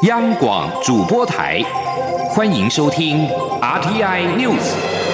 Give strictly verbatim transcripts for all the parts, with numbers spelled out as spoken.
央广主播台，欢迎收听 R T I News。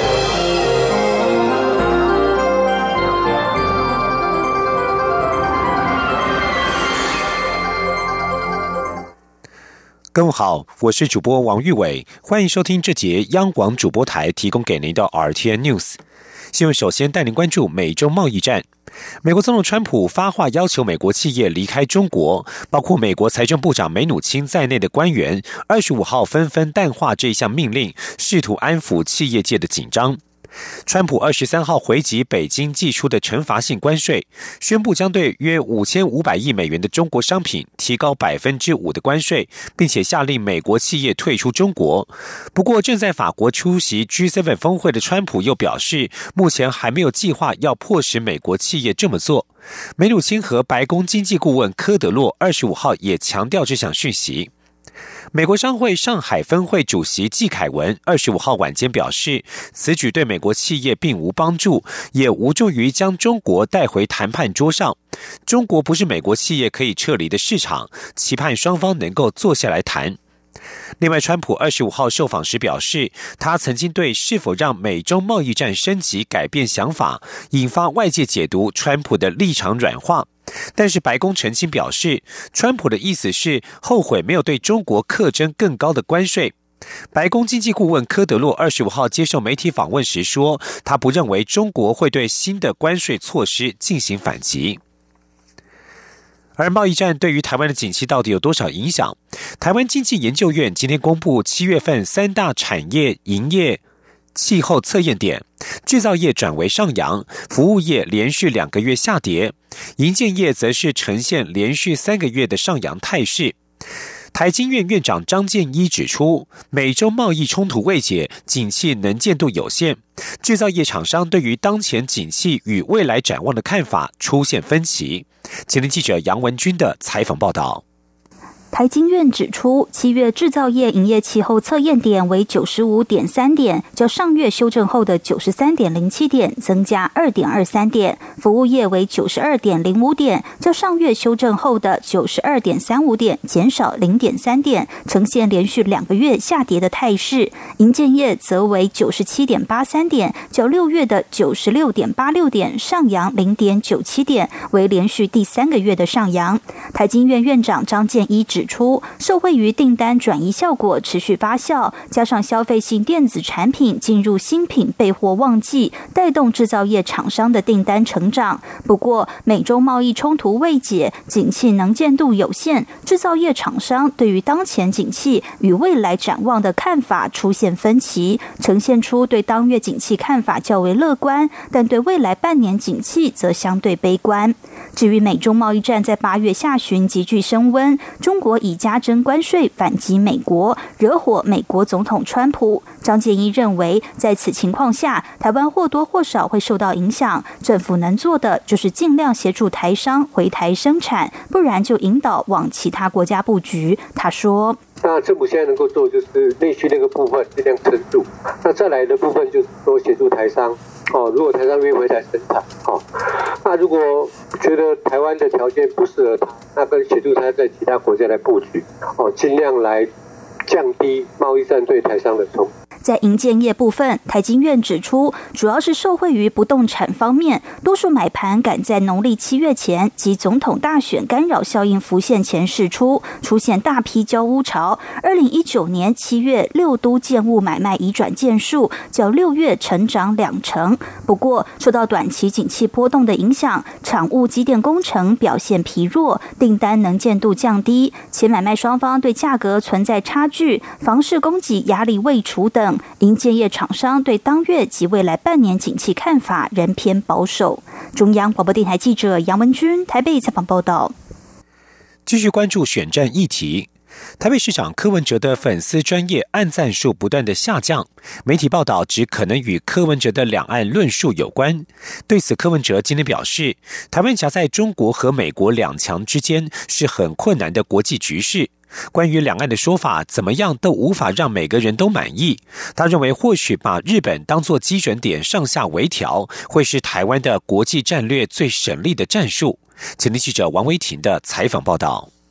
各位好，我是主播王玉伟，欢迎收听这节央广主播台提供给您的 R T I News。新闻首先带您关注美中贸易战。美国总统川普发话要求美国企业离开中国，包括美国财政部长梅努钦在内的官员二十五号纷纷淡化这项命令，试图安抚企业界的紧张。川普二十三号回击北京祭出的惩罚性关税，宣布将对约五千五百亿美元的中国商品提高百分之五的关税，并且下令美国企业退出中国。不过，正在法国出席 G 七 峰会的川普又表示，目前还没有计划要迫使美国企业这么做。梅努钦和白宫经济顾问科德洛二十五号也强调这项讯息。美国商会上海分会主席季凯文二十五号晚间表示，此举对美国企业并无帮助，也无助于将中国带回谈判桌上。中国不是美国企业可以撤离的市场，期盼双方能够坐下来谈。另外，川普二十五号受访时表示，他曾经对是否让美中贸易战升级改变想法，引发外界解读川普的立场软化。但是白宫澄清表示，川普的意思是后悔没有对中国课征更高的关税。白宫经济顾问科德洛二十五号接受媒体访问时说，他不认为中国会对新的关税措施进行反击。而贸易战对于台湾的景气到底有多少影响？台湾经济研究院今天公布七月份三大产业营业气候测验点，制造业转为上扬，服务业连续两个月下跌，营建业则是呈现连续三个月的上扬态势。台经院院长张建一指出，美中贸易冲突未解，景气能见度有限，制造业厂商对于当前景气与未来展望的看法出现分歧。前天记者杨文君的采访报道。 台经院指出，七月制造业营业气候测验点为 九十五点三 点，较上月修正后的 九十三点零七 点增加 二点二三 点；服务业为 九十二点零五 点，较上月修正后的 九十二点三五 点减少 零点三 点，呈现连续两个月下跌的态势。营建业则为 九十七点八三 点，较六月的 九十六点八六 点上扬 零点九七 点，为连续第三个月的上扬。台经院院长张建一指出，受惠于订单转移效果持续发酵，加上消费性电子产品进入新品备货旺季，带动制造业厂商的订单成长。不过，美中贸易冲突未解，景气能见度有限，制造业厂商对于当前景气与未来展望的看法出现分歧，呈现出对当月景气看法较为乐观，但对未来半年景气则相对悲观。至于美中贸易战在八月下旬急剧升温，中国以加征关税反击美国，惹火美国总统川普。张建一认为，在此情况下，台湾或多或少会受到影响，政府能做的就是尽量协助台商回台生产，不然就引导往其他国家布局。他说， 那政府现在能够做就是内需那个部分尽量撑住，那再来的部分就是说协助台商哦，如果台商愿意回台生产哦，那如果觉得台湾的条件不适合他，那跟协助他在其他国家来布局哦，尽量来降低贸易战对台商的冲击。 在营建业部分，台经院指出，主要是受惠于不动产方面，多数买盘赶在农历七月前及总统大选干扰效应浮现前释出，出现大批交屋潮。二零一九年七月六都建物买卖移转件数较六月成长两成。不过，受到短期景气波动的影响，厂务机电工程表现疲弱，订单能见度降低，且买卖双方对价格存在差距，房市供给压力未除等。营建业厂商对当月及未来半年景气看法仍偏保守。中央广播电台记者杨文君台北采访报道。 继续关注选战议题，台北市长柯文哲的粉丝专页按赞数不断的下降，媒体报道指可能与柯文哲的两岸论述有关。对此，柯文哲今天表示，台湾夹在中国和美国两强之间是很困难的国际局势。关于两岸的说法，怎么样都无法让每个人都满意。他认为，或许把日本当作基准点上下微调，会是台湾的国际战略最省力的战术。前天记者王维婷的采访报道。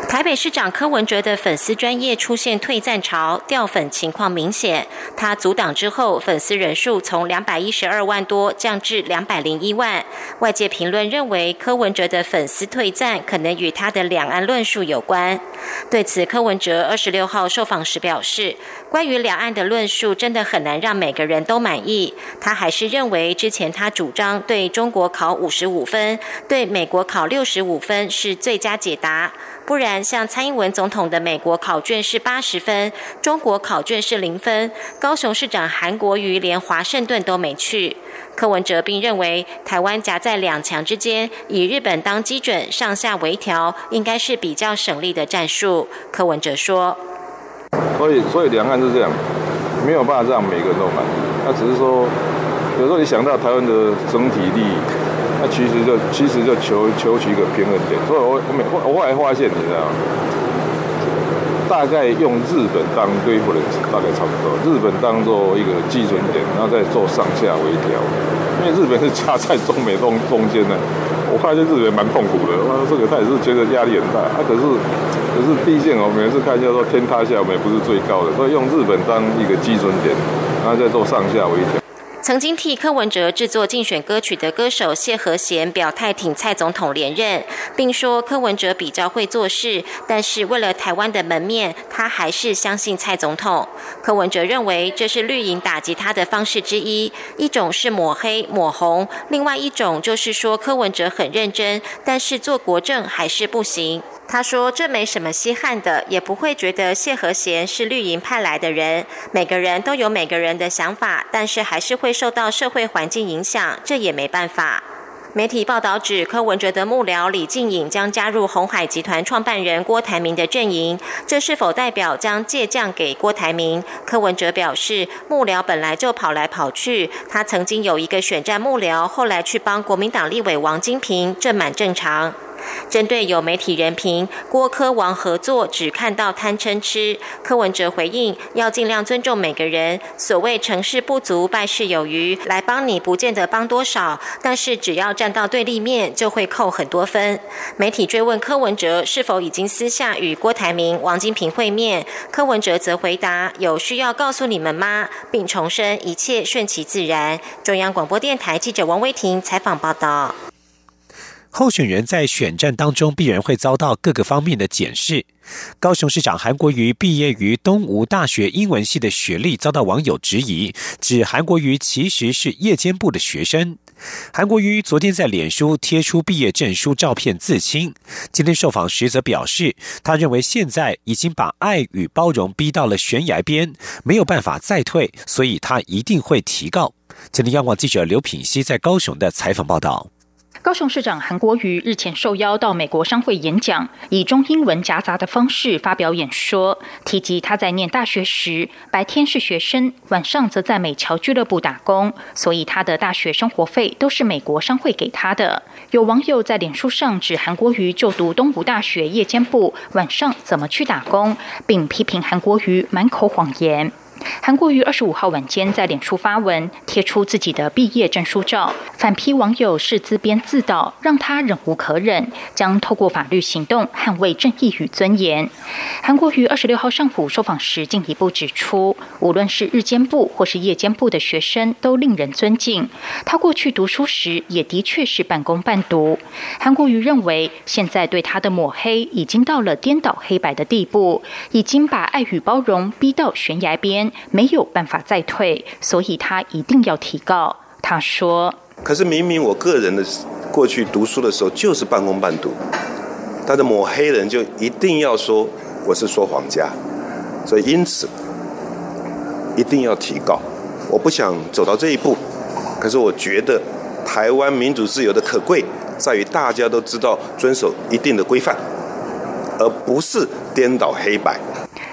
台北市长柯文哲的粉丝专页出现退赞潮，掉粉情况明显。他阻挡之后，粉丝人数从两百一十二万多降至两百零一万。外界评论认为，柯文哲的粉丝退赞可能与他的两岸论述有关。对此，柯文哲二十六号受访时表示，关于两岸的论述真的很难让每个人都满意。他还是认为，之前他主张对中国考五十五分，对美国考六十五分是最佳解答。不然，像蔡英文总统的美国考卷是八十分，中国考卷是零分。高雄市长韩国瑜连华盛顿都没去。柯文哲并认为，台湾夹在两强之间，以日本当基准，上下微调，应该是比较省力的战术。柯文哲说：“ 所以，所以两岸是这样，没有办法让每个人都满意。那只是说，有时候你想到台湾的整体利益。”那其实就其实就求求取一个平衡点，所以我我每我后来发现，你知道吗？大概用日本当对付的大概差不多，日本当做一个基准点，然后再做上下微调。因为日本是夹在中美中中间呢，我发现日本蛮痛苦的，哇，这个他也是觉得压力很大。啊，可是可是毕竟我们每次看一下说天塌下，我们也不是最高的，所以用日本当一个基准点，然后再做上下微调。 曾经替柯文哲制作竞选歌曲的歌手谢和弦表态挺蔡总统连任，并说柯文哲比较会做事，但是为了台湾的门面，他还是相信蔡总统。柯文哲认为这是绿营打击他的方式之一，一种是抹黑抹红，另外一种就是说柯文哲很认真，但是做国政还是不行。他说这没什么稀罕的，也不会觉得谢和弦是绿营派来的人，每个人都有每个人的想法，但是还是会受到社会环境影响，这也没办法。媒体报道指，柯文哲的幕僚李静颖将加入鸿海集团创办人郭台铭的阵营，这是否代表将借将给郭台铭？柯文哲表示，幕僚本来就跑来跑去，他曾经有一个选战幕僚，后来去帮国民党立委王金平，这蛮正常。针对有媒体人评郭柯王合作只看到贪嗔痴，柯文哲回应要尽量尊重每个人，所谓成事不足败事有余，来帮你不见得帮多少，但是只要站到对立面就会扣很多分。媒体追问柯文哲是否已经私下与郭台铭、王金平会面，柯文哲则回答有需要告诉你们吗，并重申一切顺其自然。中央广播电台记者王威婷采访报道。 候选人在选战当中必然会遭到各个方面的检视。高雄市长韩国瑜毕业于东吴大学英文系的学历遭到网友质疑，指韩国瑜其实是夜间部的学生。韩国瑜昨天在脸书贴出毕业证书照片自清，今天受访时则表示，他认为现在已经把爱与包容逼到了悬崖边，没有办法再退，所以他一定会提告。今天央广记者刘品熙在高雄的采访报道。 高雄市长韩国瑜日前受邀到美国商会演讲，以中英文夹杂的方式发表演说，提及他在念大学时，白天是学生，晚上则在美侨俱乐部打工，所以他的大学生活费都是美国商会给他的。有网友在脸书上指韩国瑜就读东吴大学夜间部，晚上怎么去打工，并批评韩国瑜满口谎言。韩国瑜二十五号晚间在脸书发文，贴出自己的毕业证书照，反批网友是自编自导，让他忍无可忍，将透过法律行动捍卫正义与尊严。韩国瑜二十六号上午受访时进一步指出，无论是日间部或是夜间部的学生都令人尊敬，他过去读书时也的确是半工半读。韩国瑜认为，现在对他的抹黑已经到了颠倒黑白的地步，已经把爱与包容逼到悬崖边，没有办法再退，所以他一定要提告。他说， 可是明明我个人的过去读书的时候就是半工半读，他的抹黑人就一定要说我是说谎家，所以因此一定要提告。我不想走到这一步，可是我觉得台湾民主自由的可贵在于大家都知道遵守一定的规范，而不是颠倒黑白。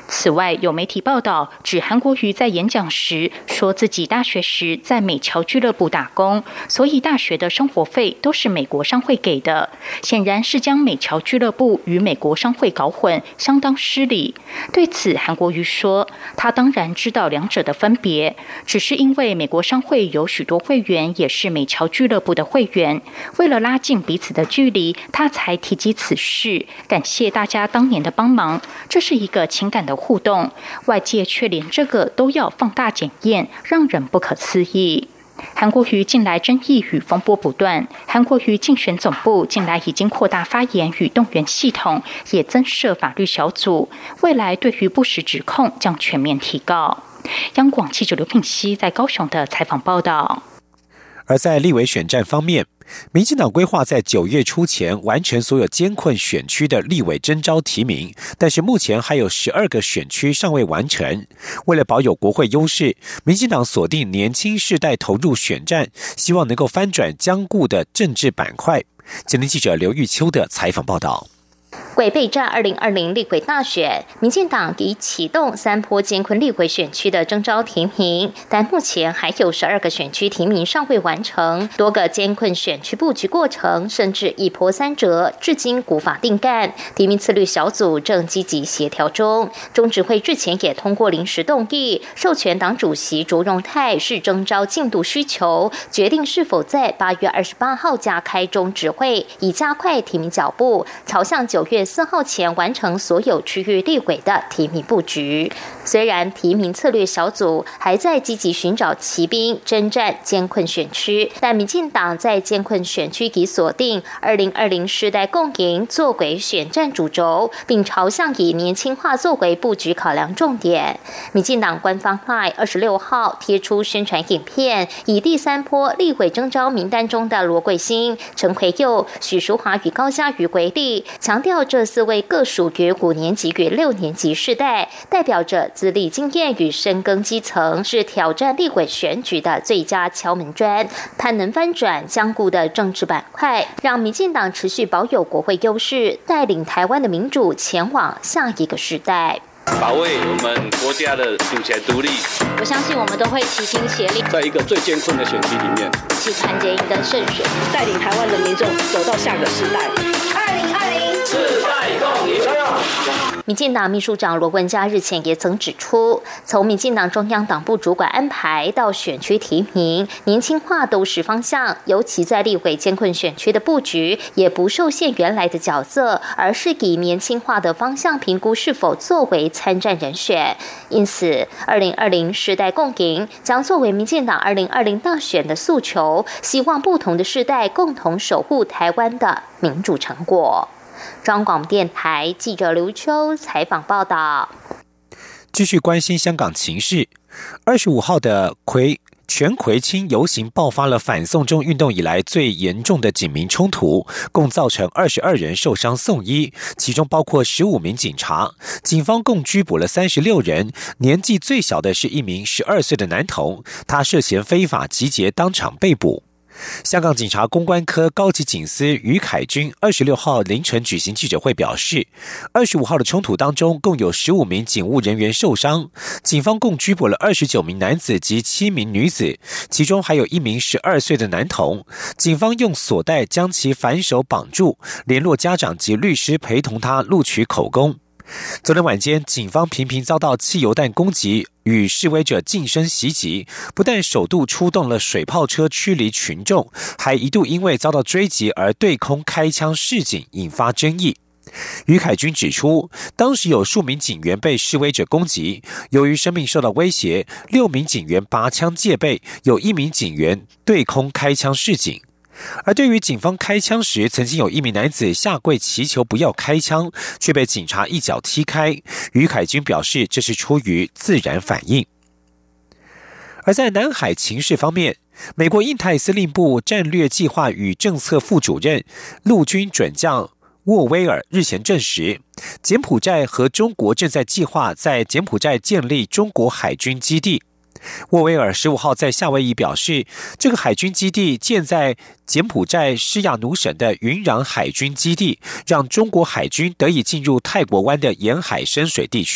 此外，有媒体报道指韩国瑜在演讲时说自己大学时在美侨俱乐部打工，所以大学的生活费都是美国商会给的，显然是将美侨俱乐部与美国商会搞混，相当失礼。对此，韩国瑜说，他当然知道两者的分别，只是因为美国商会有许多会员也是美侨俱乐部的会员，为了拉近彼此的距离，他才提及此事，感谢大家当年的帮忙，这是一个情感的互动，外界却连这个都要放大检验，让人不可思议。韩国瑜近来争议与风波不断，韩国瑜竞选总部近来已经扩大发言与动员系统，也增设法律小组，未来对于不实指控将全面提告。央广记者刘品熙在高雄的采访报道。 而在立委选战方面，民进党规划在九月初前完成所有艰困选区的立委征召提名，但是目前还有十二个选区尚未完成。为了保有国会优势，民进党锁定年轻世代投入选战，希望能够翻转僵固的政治板块。今天记者刘玉秋的采访报道。 为备战二零二零立委大选，民进党已启动三波艰困立委选区的征召提名，但目前还有十二个选区提名尚未完成，多个艰困选区布局过程甚至一波三折，至今无法定干。提名次律小组正积极协调中，中执会日前也通过临时动议，授权党主席卓荣泰视征召进度需求，决定是否在八月二十八号加开中执会，以加快提名脚步，朝向九月四号前完成所有区域立委的提名布局。虽然提名策略小组还在积极寻找骑兵征战艰困选区，但民进党在艰困选区已锁定二零二零世代共赢作为选战主轴，并朝向以年轻化作为布局考量重点。民进党官方 LINE 二十六号贴出宣传影片，以第三波立委征召名单中的罗桂兴、陈奎佑、许淑华与高嘉瑜为例，强调这四位各属于五年级与六年级世代，代表着资历经验与深耕基层，是挑战立委选举的最佳敲门砖，盼能翻转僵固的政治板块，让民进党持续保有国会优势，带领台湾的民主前往下一个时代。 保卫我们国家的主权独立， 我相信我们都会齐心协力， 在一个最艰困的选区里面， 一起团结赢得胜选， 带领台湾的民众走到下个时代。 二零二零世代共赢。 民进党秘书长罗文嘉日前也曾指出，从民进党中央党部主管安排到选区提名，年轻化都是方向，尤其在立委艰困选区的布局，也不受限原来的角色，而是以年轻化的方向评估是否作为参战人选。因此，二零二零世代共赢将作为民进党二零二零大选的诉求，希望不同的世代共同守护台湾的民主成果。中广电台记者刘秋采访报道。 继续关心香港情势，二十五号的葵全葵青游行爆发了反送中运动以来最严重的警民冲突，共造成二十二人受伤送医，其中包括十五名警察。警方共拘捕了三十六人，年纪最小的是一名十二岁的男童，他涉嫌非法集结当场被捕。香港警察公关科高级警司于凯军二十六号凌晨举行记者会表示，二十五号的冲突当中共有十五名警务人员受伤，警方共拘捕了二十九名男子及七名女子，其中还有一名十二岁的男童，警方用锁带将其反手绑住，联络家长及律师陪同他录取口供。昨天晚间，警方频频遭到汽油弹攻击与示威者近身袭击，不但首度出动了水炮车驱离群众，还一度因为遭到追击而对空开枪示警，引发争议。于凯军指出，当时有数名警员被示威者攻击，由于生命受到威胁，六名警员拔枪戒备，有一名警员对空开枪示警。而对于警方开枪时，曾经有一名男子下跪祈求不要开枪，却被警察一脚踢开。于凯军表示，这是出于自然反应。而在南海情势方面，美国印太司令部战略计划与政策副主任陆军准将沃威尔日前证实，柬埔寨和中国正在计划在柬埔寨建立中国海军基地。沃威尔十五号在夏威夷表示，这个海军基地建在柬埔寨施亚努省的云壤海军基地，让中国海军得以进入泰国湾的沿海深水地区。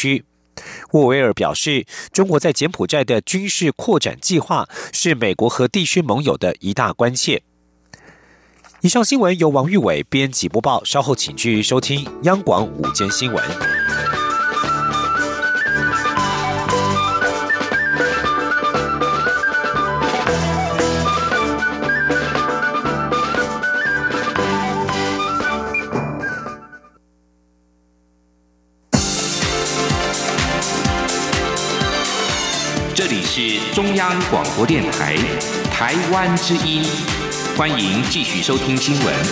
沃维尔表示，中国在柬埔寨的军事扩展计划是美国和地区盟友的一大关切。以上新闻由王玉伟编辑播报，稍后请继续收听央广午间新闻。 这里是中央广播电台台湾之音，欢迎继续收听新闻。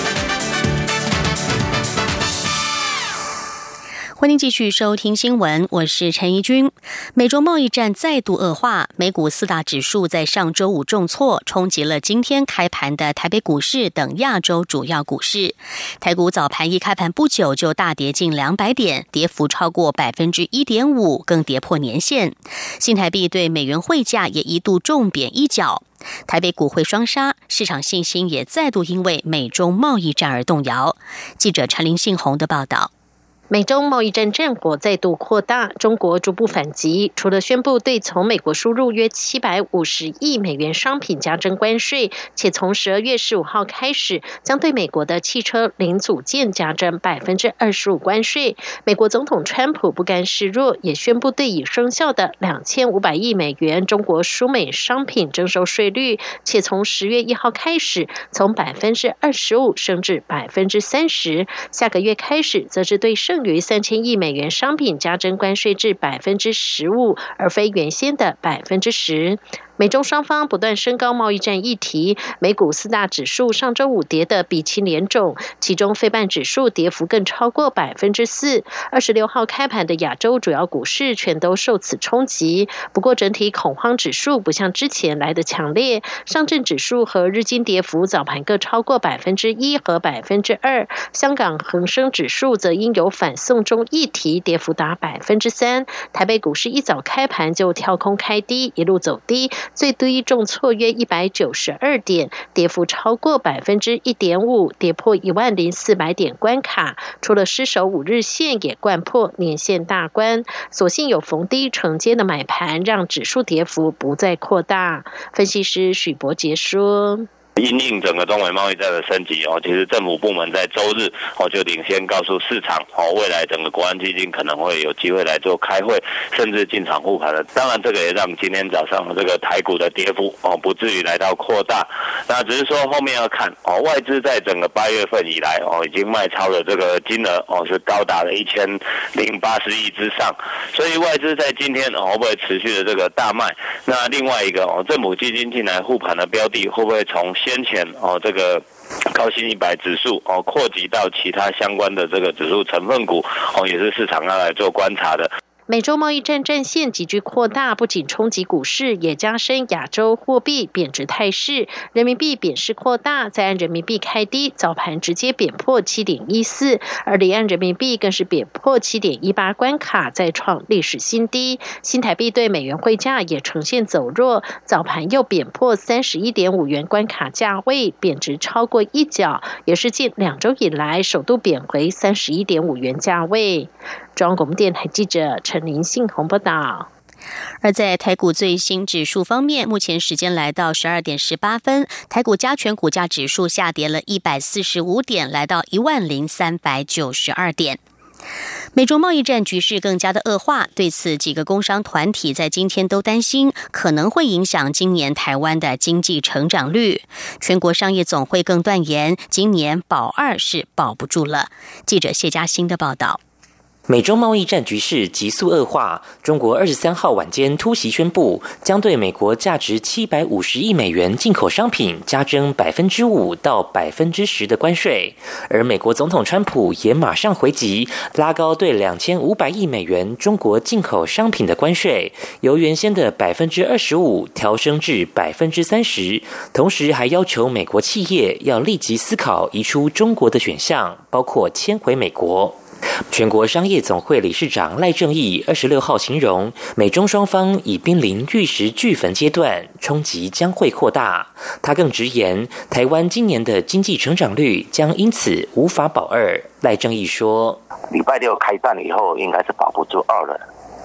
欢迎继续收听新闻，我是陈怡君。美中贸易战再度恶化，美股四大指数在上周五重挫，冲击了今天开盘的台北股市等亚洲主要股市。台股早盘一开盘不久就大跌近两百点，跌幅超过百分之一点五，更跌破年线。新台币对美元汇价也一度重贬一角。台北股汇双杀，市场信心也再度因为美中贸易战而动摇。记者陈林信宏的报道。 美中贸易战战火再度扩大，中国逐步反击，除了宣布对从美国输入约七百五十亿美元商品加征关税，且从十二月十五号开始将对美国的汽车零组件加征百分之二十五关税。美国总统川普不甘示弱，也宣布对已生效的两千五百亿美元中国输美商品征收税率，且从十月一号开始从百分之二十五升至百分之三十，下个月开始则是对剩于三千亿美元商品加征关税至百分之十五，而非原先的百分之十。美中双方不断升高贸易战议题，美股四大指数上周五跌得鼻青脸肿，其中费半指数跌幅更超过百分之四。二十六号开盘的亚洲主要股市全都受此冲击，不过整体恐慌指数不像之前来的强烈，上证指数和日经跌幅早盘各超过百分之一和百分之二，香港恒生指数则因有反送中议题跌幅达百分之三。台北股市一早开盘就跳空开低，一路走低。最低重挫约一百九十二点，跌幅超过百分之一点五，跌破一万零四百点关卡。除了失守五日线，也掼破年线大关。所幸有逢低承接的买盘，让指数跌幅不再扩大。分析师许博杰说。 因应整个中美贸易战的升级哦，其实政府部门在周日哦就领先告诉市场哦，未来整个国安基金可能会有机会来做开会，甚至进场护盘的。当然，这个也让今天早上这个台股的跌幅哦不至于来到扩大。那只是说后面要看哦，外资在整个八月份以来哦已经卖超的这个金额哦是高达了一千零八十亿之上，所以外资在今天哦会不会持续的这个大卖？那另外一个哦，政府基金进来护盘的标的会不会从先前哦，这个高新一百指数哦，扩及到其他相关的这个指数成分股哦，也是市场要来做观察的。 美洲贸易战战线急剧扩大，不仅冲击股市，也加深亚洲货币贬值态势。人民币贬势扩大，在岸人民币开低，早盘直接贬破 七点一四， 而离岸人民币更是贬破 七点一八 关卡，再创历史新低。新台币对美元汇价也呈现走弱，早盘又贬破 三十一点五元关卡价位，贬值超过一角，也是近两周以来首度贬回 三十一点五元价位。中央广播电台记者陈林信宏报道。 而在台股最新指数方面，目前时间来到十二点十八分，台股加权股价指数下跌了一百四十五点，来到一万零三百九十二点。美中贸易战局势更加的恶化，对此几个工商团体在今天都担心可能会影响今年台湾的经济成长率。全国商业总会更断言，今年保二是保不住了。记者谢嘉欣的报道。 美中贸易战局势急速恶化，中国二十三号晚间突袭宣布，将对美国价值七百五十亿美元进口商品加征百分之五到百分之十的关税，而美国总统川普也马上回击，拉高对两千五百亿美元中国进口商品的关税，由原先的百分之二十五调升至百分之三十，同时还要求美国企业要立即思考移出中国的选项，包括迁回美国。全国商业总会理事长赖正义二十六号形容，美中双方已濒临玉石俱焚阶段，冲击将会扩大。他更直言，台湾今年的经济成长率将因此无法保二。赖正义说， 礼拜六开战以后，应该是保不住二了。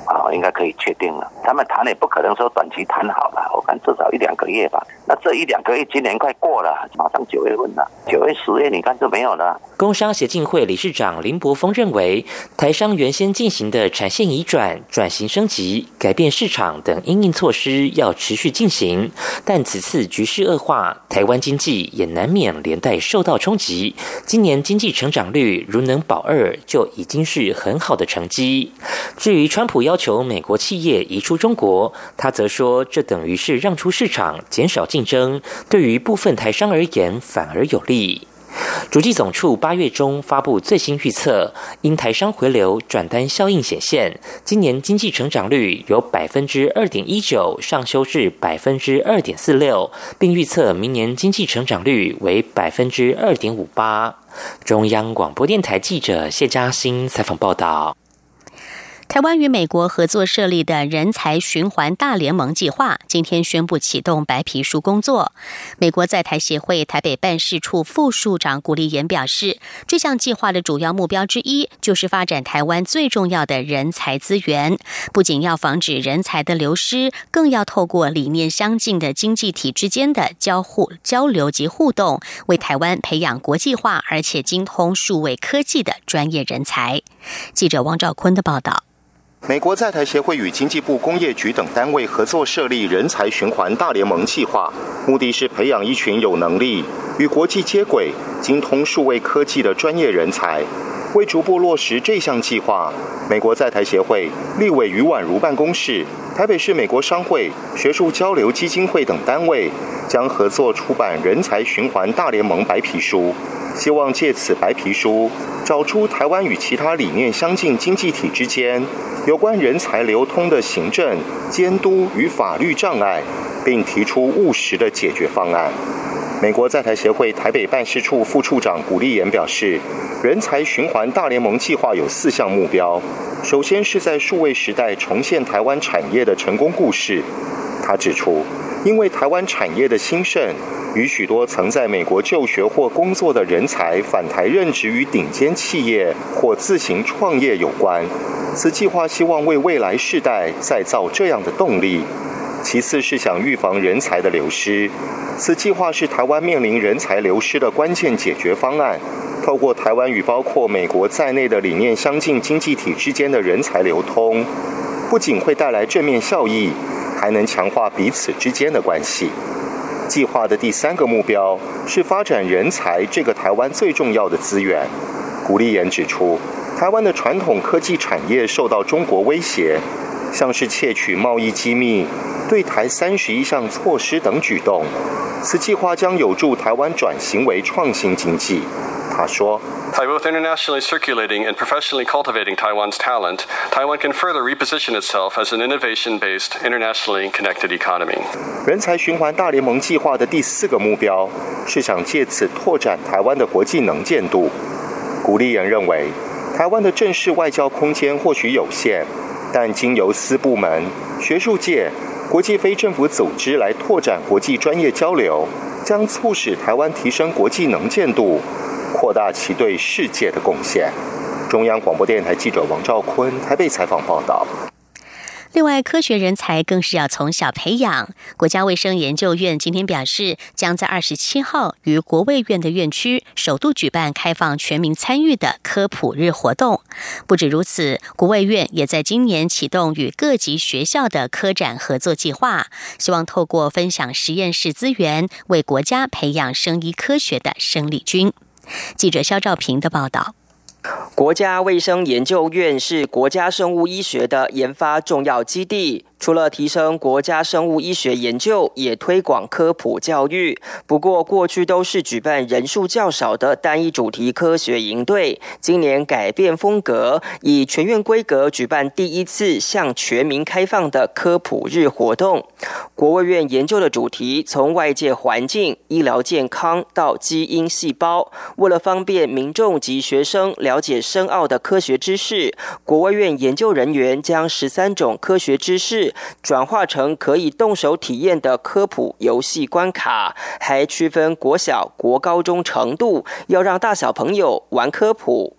啊，应该可以确定了。他们谈也不可能说短期谈好了，我看至少一两个月吧。那这一两个月，今年快过了，马上九月份了，九月、十月，你看就没有了。 工商协进会理事长林柏峰认为，台商原先进行的产线移转、转型升级、改变市场等因应措施要持续进行，但此次局势恶化，台湾经济也难免连带受到冲击。今年经济成长率如能保二，就已经是很好的成绩。至于川普要求美国企业移出中国，他则说，这等于是让出市场，减少竞争，对于部分台商而言反而有利。主计总处八月中发布最新预测，因台商回流转单效应显现，今年经济成长率由百分之二点一九上修至百分之二点四六，并预测明年经济成长率为百分之二点五八。中央广播电台记者谢嘉欣采访报道。 台湾与美国合作设立的人才循环大联盟计划今天宣布启动白皮书工作。美国在台协会台北办事处副处长古立言表示，这项计划的主要目标之一就是发展台湾最重要的人才资源，不仅要防止人才的流失，更要透过理念相近的经济体之间的交互交流及互动，为台湾培养国际化而且精通数位科技的专业人才。记者王兆坤的报道。 美国在台协会与经济部工业局等单位合作设立人才循环大联盟计划，目的是培养一群有能力、与国际接轨、精通数位科技的专业人才。为逐步落实这项计划，美国在台协会、立委余婉如办公室、台北市美国商会、学术交流基金会等单位将合作出版人才循环大联盟白皮书，希望借此白皮书找出台湾与其他理念相近经济体之间有关人才流通的行政、监督与法律障碍，并提出务实的解决方案。美国在台协会台北办事处副处长古立言表示，人才循环大联盟计划有四项目标，首先是在数位时代重现台湾产业的成功故事。他指出，因为台湾产业的兴盛与许多曾在美国就学或工作的人才返台任职于顶尖企业或自行创业有关，此计划希望为未来世代再造这样的动力。其次是想预防人才的流失，此计划是台湾面临人才流失的关键解决方案，透过台湾与包括美国在内的理念相近经济体之间的人才流通，不仅会带来正面效益，还能强化彼此之间的关系。计划的第三个目标是发展人才这个台湾最重要的资源。古立言指出，台湾的传统科技产业受到中国威胁，像是窃取贸易机密、对台三十一项措施等举动，此计划将有助台湾转型为创新经济。他说， By both internationally circulating and professionally cultivating Taiwan's talent, Taiwan can further reposition itself as an innovation-based, internationally connected economy. 人才循环大联盟计划的第四个目标是想借此拓展台湾的国际能见度。古立言认为，台湾的正式外交空间或许有限，但经由私部门、学术界、国际非政府组织来拓展国际专业交流，将促使台湾提升国际能见度，扩大其对世界的贡献。中央广播电台记者王兆坤台北采访报道。 另外，科学人才更是要从小培养。国家卫生研究院今天表示，将在二十七号于国卫院的院区首度举办开放全民参与的科普日活动。不止如此，国卫院也在今年启动与各级学校的科展合作计划，希望透过分享实验室资源，为国家培养生医科学的生力军。记者肖兆平的报道。 国家卫生研究院是国家生物医学的研发重要基地，除了提升国家生物医学研究，也推广科普教育。不过，过去都是举办人数较少的单一主题科学营队，今年改变风格，以全院规格举办第一次向全民开放的科普日活动。国卫院研究的主题从外界环境、医疗健康到基因细胞，为了方便民众及学生了解深奥的科学知识，国卫院研究人员将十三种科学知识转化成可以动手体验的科普游戏关卡，还区分国小、国高中程度，要让大小朋友玩科普，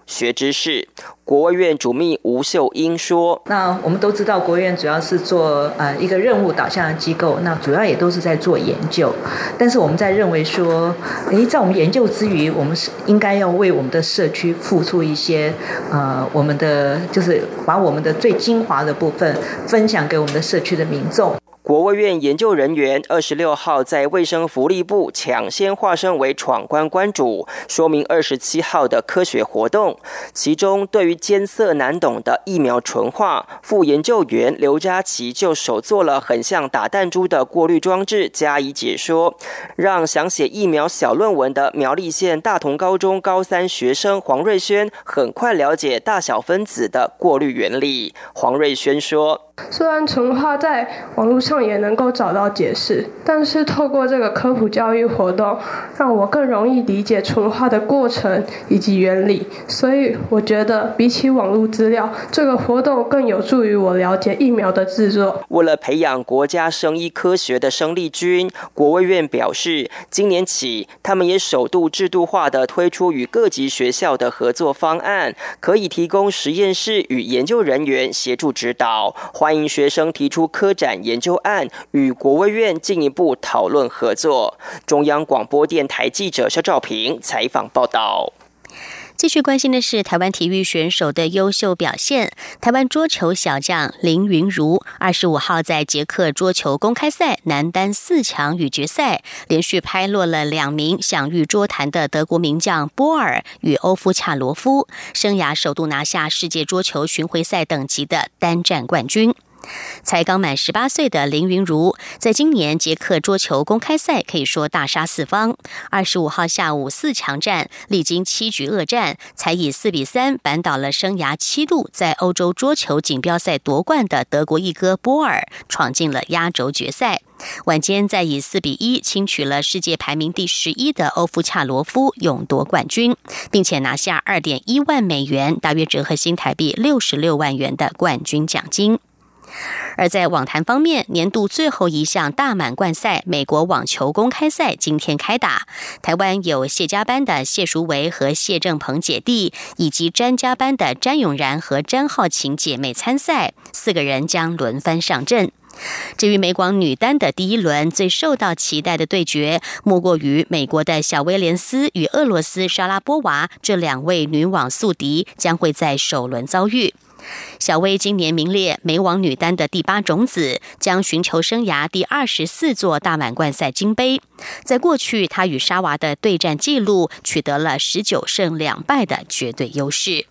学知识。国卫院主秘吴秀英说：“ 那我们都知道，国卫院主要是做呃一个任务导向的机构，那主要也都是在做研究。但是我们在认为说，诶，在我们研究之余，我们是应该要为我们的社区付出一些呃我们的就是把我们的最精华的部分分享给我们的社区的民众。” 国卫院研究人员二十六号在卫生福利部抢先化身为闯关关主，说明二十七号的科学活动。其中，对于艰涩难懂的疫苗纯化，副研究员刘佳琪就手做了很像打弹珠的过滤装置加以解说，让想写疫苗小论文的苗栗县大同高中高三学生黄瑞轩很快了解大小分子的过滤原理。黄瑞轩说：“ 虽然纯化在网络上也能够找到解释，但是透过这个科普教育活动，让我更容易理解纯化的过程以及原理。所以我觉得比起网络资料，这个活动更有助于我了解疫苗的制作。” 为了培养国家生医科学的生力军，国卫院表示，今年起他们也首度制度化的推出与各级学校的合作方案，可以提供实验室与研究人员协助指导。欢迎学生提出科展研究案，与国卫院进一步讨论合作。中央广播电台记者肖兆平采访报道。 继续关心的是台湾体育选手的优秀表现。台湾桌球小将林昀儒二十五号在捷克桌球公开赛男单四强与决赛，连续拍落了两名享誉桌坛的德国名将波尔与欧夫恰罗夫，生涯首度拿下世界桌球巡回赛等级的单战冠军。才刚满十八岁的林昀儒，在今年捷克桌球公开赛可以说大杀四方。二十五号下午四强战，历经七局恶战，才以四比三扳倒了生涯七度在欧洲桌球锦标赛夺冠的德国一哥波尔，闯进了压轴决赛。晚间再以四比一轻取了世界排名第十一的欧夫恰罗夫，勇夺冠军，并且拿下二点一万美元，大约折合新台币六十六万元的冠军奖金。而在网坛方面，年度最后一项大满贯赛美国网球公开赛今天开打，台湾有谢家班的谢淑薇和谢正鹏姐弟，以及詹家班的詹永然和詹皓晴姐妹参赛，四个人将轮番上阵。至于美广女单的第一轮最受到期待的对决，莫过于美国的小威廉斯与俄罗斯莎拉波娃这两位女网宿敌将会在首轮遭遇。小威今年名列美网女单的第八种子，将寻求生涯第二十四座大满贯赛金杯。在过去，她与莎娃的对战记录取得了十九胜两败的绝对优势。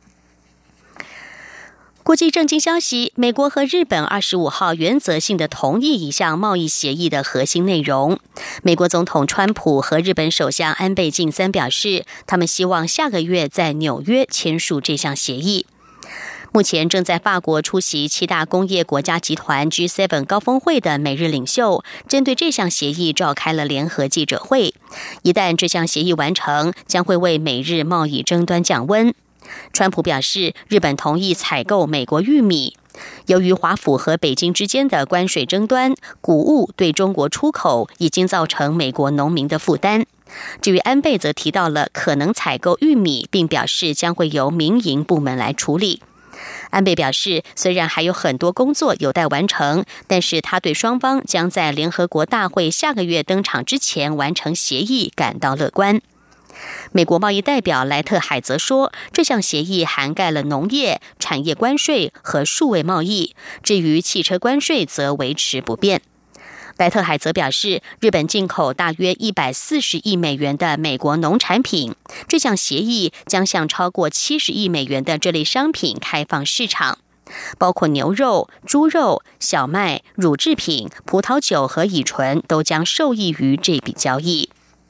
国际政经消息，美国和日本二十五号原则性的同意一项贸易协议的核心内容。美国总统川普和日本首相安倍晋三表示，他们希望下个月在纽约签署这项协议。目前正在法国出席七大工业国家集团 G 七 高峰会的美日领袖，针对这项协议召开了联合记者会。一旦这项协议完成，将会为美日贸易争端降温。川普表示，日本同意采购美国玉米。由于华府和北京之间的关税争端，谷物对中国出口已经造成美国农民的负担。至于安倍则提到了可能采购玉米，并表示将会由民营部门来处理。安倍表示，虽然还有很多工作有待完成，但是他对双方将在联合国大会下个月登场之前完成协议感到乐观。美国贸易代表莱特海则说，这项协议涵盖了农业、产业关税和数位贸易，至于汽车关税则维持不变。莱特海则表示，日本进口大约一百四十亿美元的美国农产品，这项协议将向超过七十亿美元的这类商品开放市场，包括牛肉、猪肉、小麦、乳制品、葡萄酒和乙醇都将受益于这笔交易。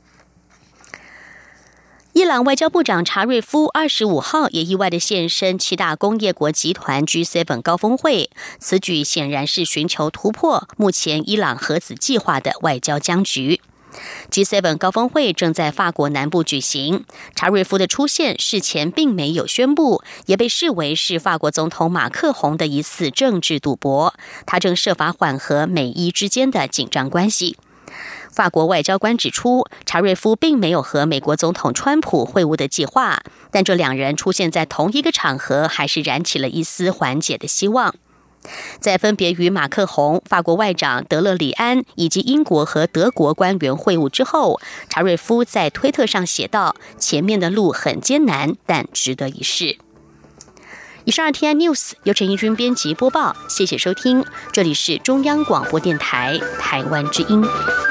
伊朗外交部长查瑞夫二十五号也意外的现身七大工业国集团 G 七 高峰会，此举显然是寻求突破目前伊朗核子计划的外交僵局。G 七 高峰会正在法国南部举行，查瑞夫的出现事前并没有宣布，也被视为是法国总统马克宏的一次政治赌博，他正设法缓和美伊之间的紧张关系。 法国外交官指出，查瑞夫并没有和美国总统川普会晤的计划，但这两人出现在同一个场合，还是燃起了一丝缓解的希望。在分别与马克宏、法国外长德勒里安以及英国和德国官员会晤之后，查瑞夫在推特上写道：“前面的路很艰难，但值得一试。”以上 T I News 由陈怡君编辑播报，谢谢收听，这里是中央广播电台台湾之音。